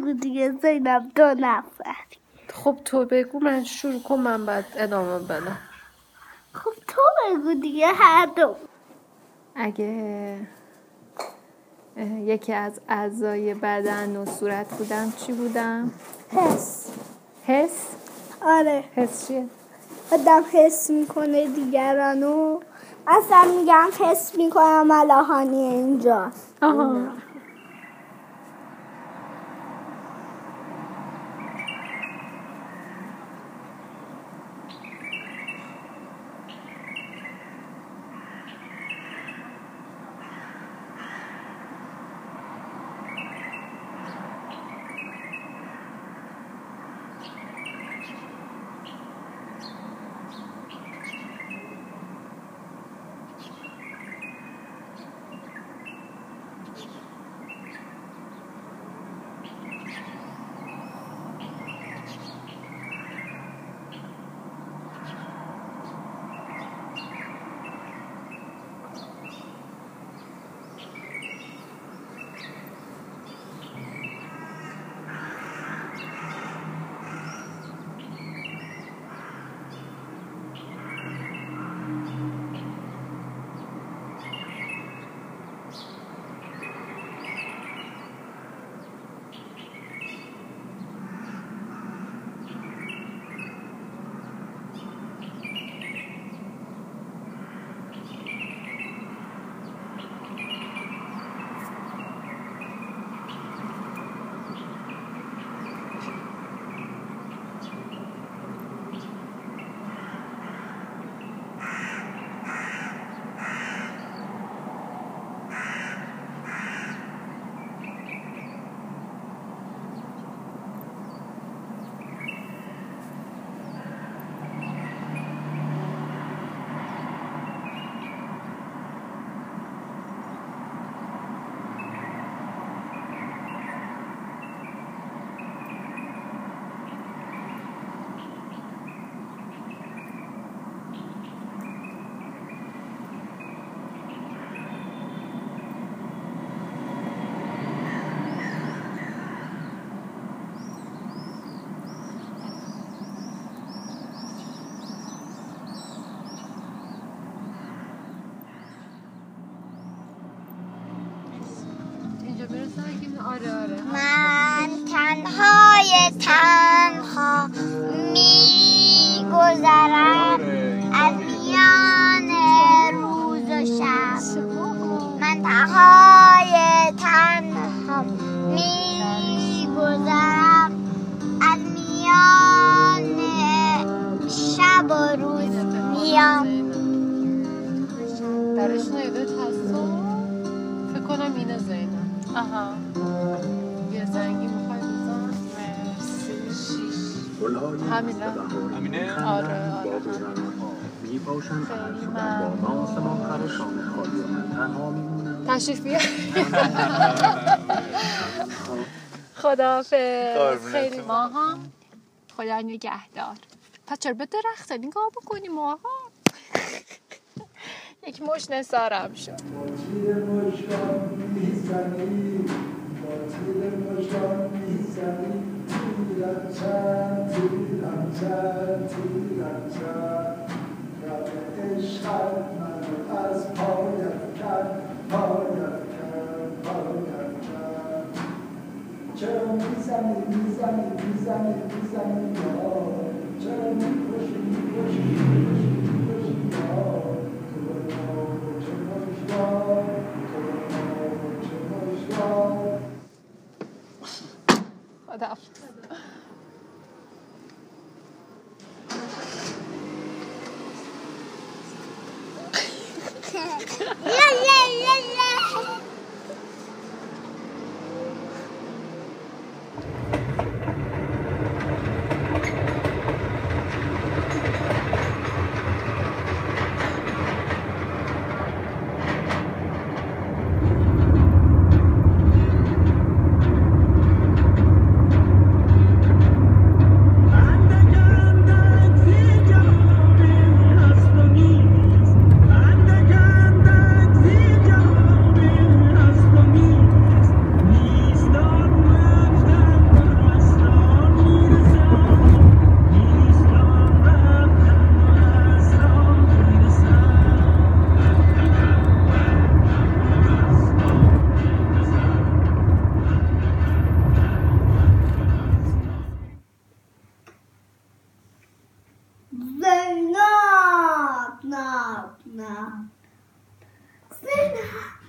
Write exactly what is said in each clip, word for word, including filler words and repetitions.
بگو دیگه زینب. دو نفر. خب تو بگو من شروع کنم من بعد ادامه بدم. خب تو بگو دیگه هر دو. اگه یکی از اعضای بدن و صورت بودم چی بودم؟ حس. حس؟ آره. حس چیه؟ آدم حس میکنه دیگرانو. اصلا میگم حس میکنم ملاحانی اینجاست. آها. من تنهای تنها می گذرم از میان روز و شب. من تنهای تنها می گذرم از میان شب و روز میام. درش نایدت هستم فکر کنم اینه زینب. آها. یه زنگی میخوای بزن؟ مرسی. همینه؟ همینه؟ آره آره تشریف بیار. خداحافظ. خیلی ماها خدا نگهدار. پس چرا به درخت نگاه بکنی ماها؟ یک مش نثارم شد. چرا میزنی میزنی میزنی میزنی چرا میکشی میکشی میکشی میکشی خداحافظ. نه زینب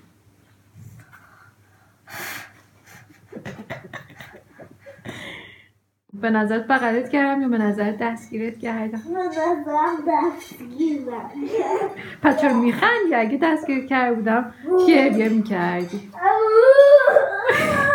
به نظرت بغلت کردم یا به نظرت دستگیرت کردم؟ من نظرم دستگیرم پس چرا میخندی؟ اگه دستگیر کرده بودم گریه میکردی.